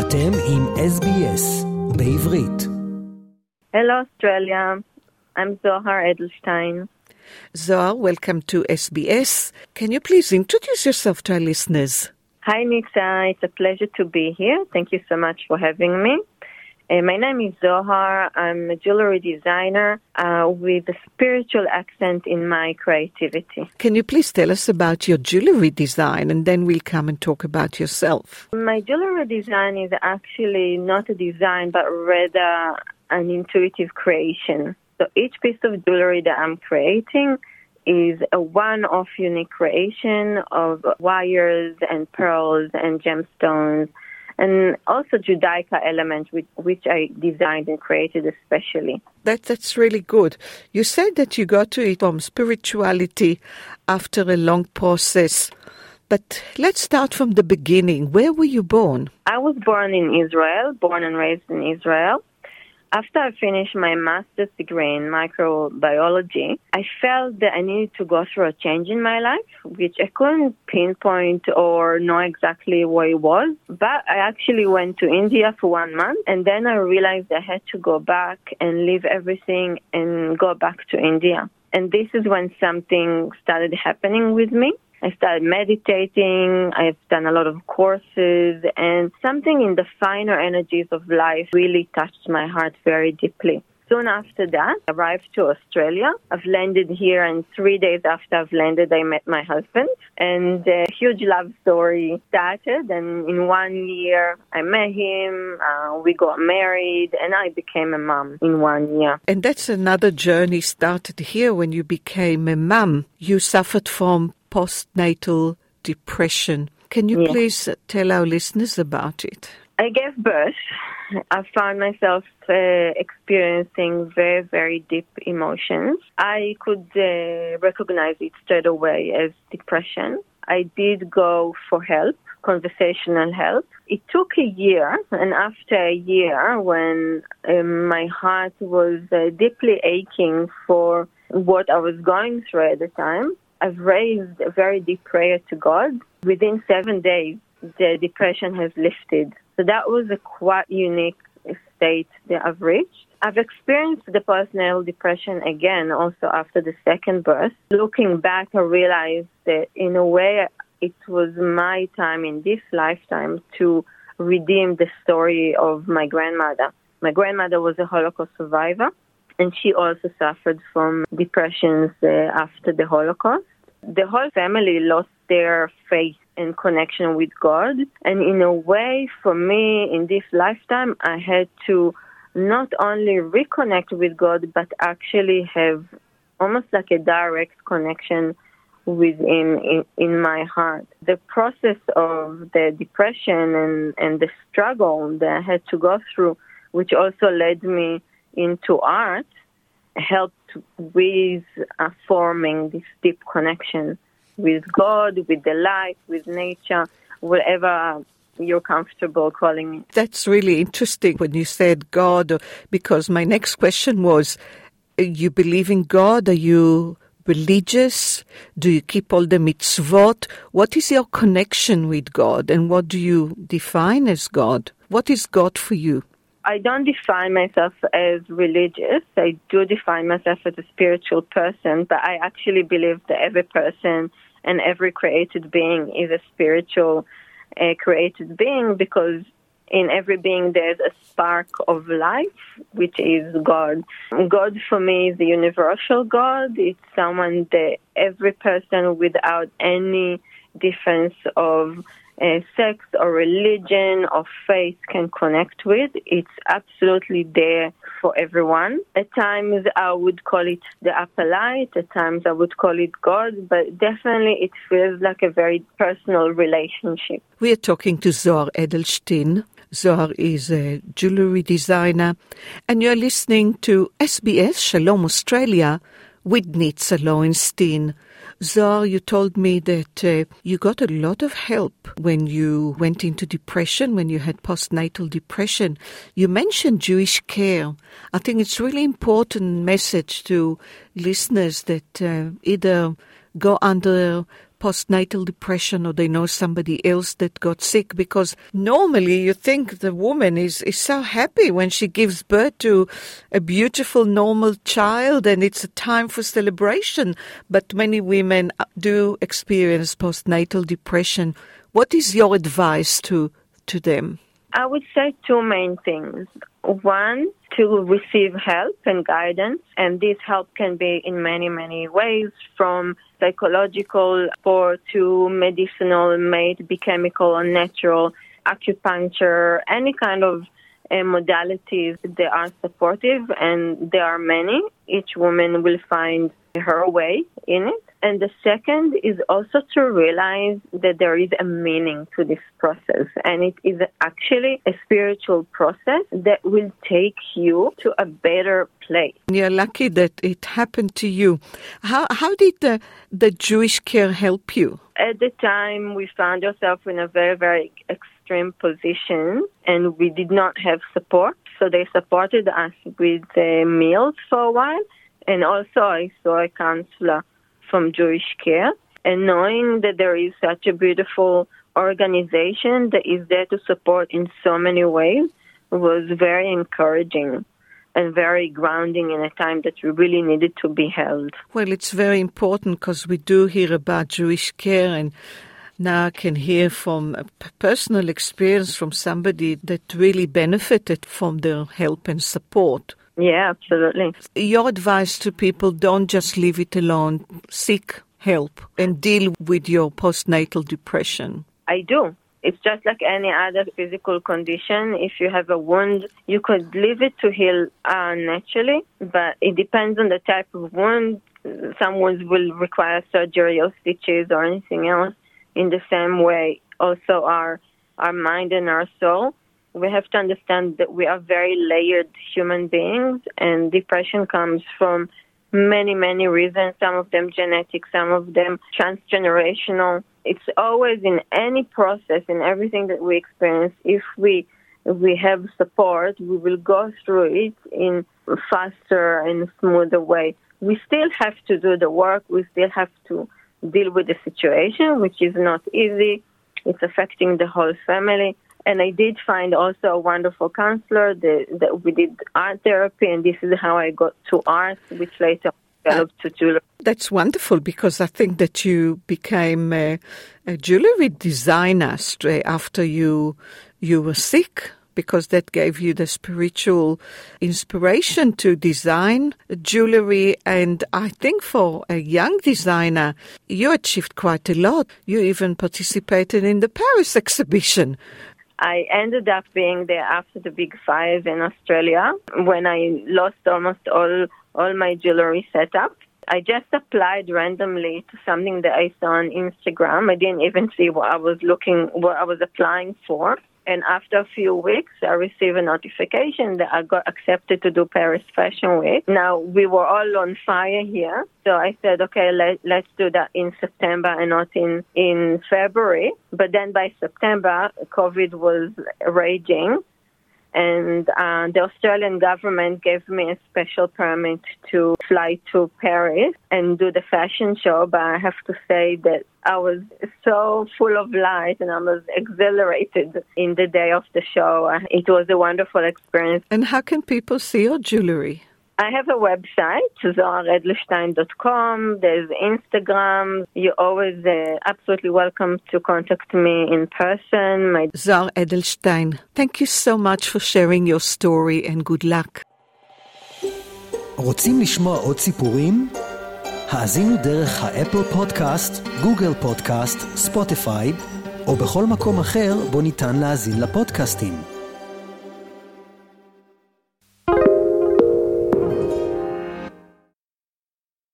אתם עם SBS בעברית. Hello Australia, I'm Zohar Edelstein. Zohar, welcome to SBS. Can you please introduce yourself to our listeners? Hi Nitsa, it's a pleasure to be here. Thank you so much for having me. My name is Zohar. I'm a jewelry designer with a spiritual accent in my creativity. Can you please tell us about your jewelry design and then we'll come and talk about yourself? My jewelry design is actually not a design but rather an intuitive creation. So each piece of jewelry that I'm creating is a one-off unique creation of wires and pearls and gemstones, and also Judaica elements which I designed and created especially. That's really good. You said that you got to it from spirituality after a long process. But let's start from the beginning. Where were you born? I was born in Israel, born and raised in Israel. After I finished my master's degree in microbiology, I felt that I needed to go through a change in my life, which I couldn't pinpoint or know exactly what it was. But I actually went to India for 1 month, and then I realized I had to go back and leave everything and go back to India. And this is when something started happening with me. I started meditating, I've done a lot of courses, and something in the finer energies of life really touched my heart very deeply. Soon after that, I arrived to Australia. I've landed here, and 3 days after I've landed, I met my husband, and a huge love story started, and in 1 year, I met him, we got married, and I became a mom in 1 year. And that's another journey started here when you became a mom. You suffered from postnatal depression. Can you please tell our listeners about it? I gave birth. I found myself experiencing very, very deep emotions. I could recognize it straight away as depression. I did go for help, conversational help. It took a year, and after a year, when my heart was deeply aching for what I was going through at the time, I've raised a very deep prayer to God. Within 7 days, the depression has lifted. So that was a quite unique state that I've reached. I've experienced the postnatal depression again also after the second birth. Looking back, I realized that in a way it was my time in this lifetime to redeem the story of my grandmother. My grandmother was a Holocaust survivor, and she also suffered from depressions after the Holocaust. The whole family lost their faith and connection with God. And in a way, for me, in this lifetime, I had to not only reconnect with God, but actually have almost like a direct connection with Him in my heart. The process of the depression and the struggle that I had to go through, which also led me into art, helped with forming this deep connection with God, with the life, with nature, whatever you're comfortable calling it. That's really interesting when you said God, because my next question was, you believe in God? Are you religious? Do you keep all the mitzvot? What is your connection with God, and what do you define as God? What is God for you? I don't define myself as religious. I do define myself as a spiritual person, but I actually believe that every person and every created being is a spiritual created being, because in every being there's a spark of life, which is God. God for me is the universal God. It's someone that every person without any difference of sex or religion or faith can connect with. It's absolutely there for everyone. At times I would call it the upper light, at times I would call it God, but definitely it feels like a very personal relationship. We are talking to Zohar Edelstein. Zohar is a jewelry designer, and you're listening to SBS Shalom Australia with Nitsa Lowenstein. Zohar, you told me that you got a lot of help when you went into depression, when you had postnatal depression. You mentioned Jewish care. I think it's really important message to listeners that either go under postnatal depression or they know somebody else that got sick? Because normally you think the woman is so happy when she gives birth to a beautiful, normal child and it's a time for celebration. But many women do experience postnatal depression. What is your advice to them? I would say two main things. One, to receive help and guidance, and this help can be in many, many ways, from psychological support to medicinal, may it be chemical or natural, acupuncture, any kind of modalities. They are supportive, and there are many. Each woman will find her way in it. And the second is also to realize that there is a meaning to this process, and it is actually a spiritual process that will take you to a better place. You're lucky that it happened to you. How did the Jewish Care help you? At the time, we found ourselves in a very, very extreme position, and we did not have support. So they supported us with meals for a while, and also I saw a counselor from Jewish Care, and knowing that there is such a beautiful organization that is there to support in so many ways was very encouraging and very grounding in a time that we really needed to be held. Well, it's very important because we do hear about Jewish Care, and now I can hear from a personal experience from somebody that really benefited from their help and support. Yeah, absolutely. Your advice to people, don't just leave it alone. Seek help and deal with your postnatal depression. I do. It's just like any other physical condition. If you have a wound, you could leave it to heal naturally, but it depends on the type of wound. Some wounds will require surgery or stitches or anything else. In the same way, also our mind and our soul. We have to understand that we are very layered human beings, and depression comes from many, many reasons, some of them genetic, some of them transgenerational. It's always in any process, in everything that we experience, if we have support, we will go through it in a faster and smoother way. We still have to do the work. We still have to deal with the situation, which is not easy. It's affecting the whole family. And I did find also a wonderful counselor that we did art therapy, and this is how I got to art, which later developed to jewelry. That's wonderful, because I think that you became a jewelry designer straight after you were sick, because that gave you the spiritual inspiration to design jewelry. And I think for a young designer, you achieved quite a lot. You even participated in the Paris exhibition. I ended up being there after the Big Five in Australia, when I lost almost all my jewelry setup. I just applied randomly to something that I saw on Instagram. I didn't even see what I was applying for. And after a few weeks, I received a notification that I got accepted to do Paris Fashion Week. Now, we were all on fire here. So I said, okay, let's do that in September and not in February. But then by September, COVID was raging. And the Australian government gave me a special permit to fly to Paris and do the fashion show. But I have to say that I was so full of light and I was exhilarated in the day of the show. It was a wonderful experience. And how can people see your jewelry? I have a website, zoharedelstein.com. There's Instagram. You're always absolutely welcome to contact me in person. Zohar Edelstein, thank you so much for sharing your story and good luck. רוצים לשמוע עוד סיפורים? האזינו דרך האפל פודקאסט, גוגל פודקאסט, ספוטיפיי, או בכל מקום אחר בו ניתן להאזין לפודקאסטים.